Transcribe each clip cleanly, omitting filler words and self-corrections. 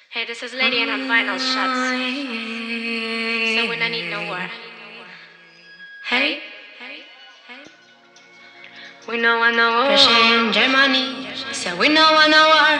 Hey, this is Lady and on vinyl shots. So when I need no war. Hey, we know I know war. Russia and Germany. So we know I know war.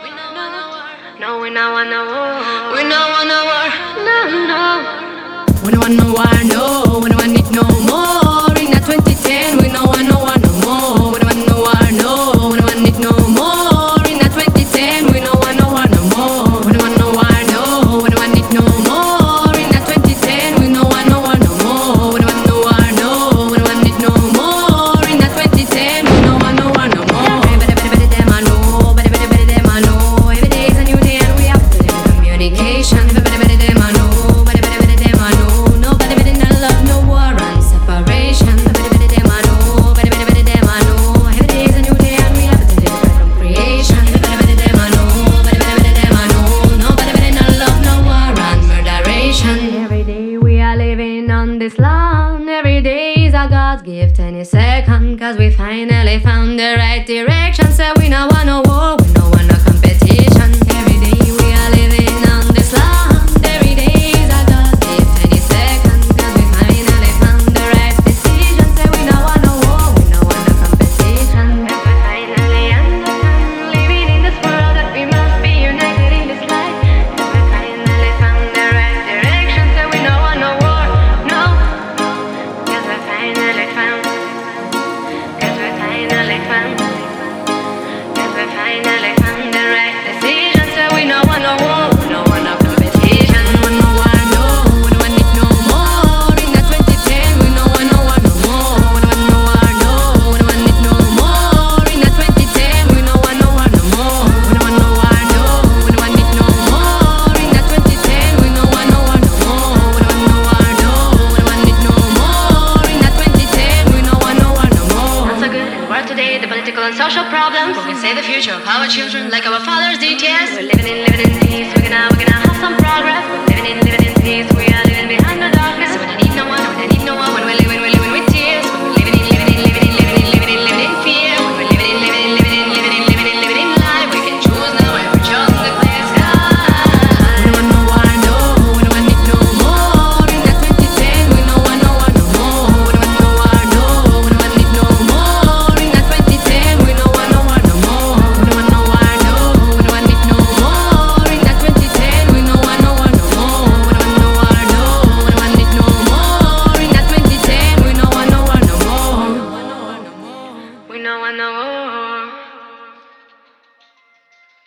No, we know I know war. We know I know war. No, no. We know I know war. No, we know I need no more. In the 2010, we know I know war no more. We know I know war. No, we know I need no more. In the 2010, we know I know war no more. We know I know war. No, we know I need no more. In the 2010, we know I know war no more. We know I know war. No, we know I need no more. In the 2010, we know I know war no more. Better them I know. Better them I know. Every day is a new day and we have to live in communication. Better them I know. Better them I know. Nobody better than love, no war and separation. Better them I know. Better them I know. Every day is a new day and we have to live from creation. Better them I know. Better them I know. Nobody better than love, no war and murderation. Every day we are living on this land. Every day is a God's gift any second. Cause we finally found the right direction. So we no want no war, we no want no competition. Every day we are living on this land. Every day is a God's gift any second. Cause we finally found the right decision. So we no want no war, we no want no competition. Cause we finally understand, living in this world, that we must be united in this life. Cause we finally found the right direction. So we no want no war, no. Cause we finally found. Cause we finally found. Cause we finally found the right decision. So we no want no war, we no want no competition. We no want no war, no, we no want it no more. In the 2010, we no want no war no more. We no want no war, no, we no want it no more. In the 2010, we no want no war no more. We no want no war, no, we no want it no more. In the 2010, we no want no war no more. We no want no war, no, we no want it no more. In the 2010, we no want no war no more. Not so good in the world today, the political and social problems. Who can save the future of our children like our fathers did, yes? We're living in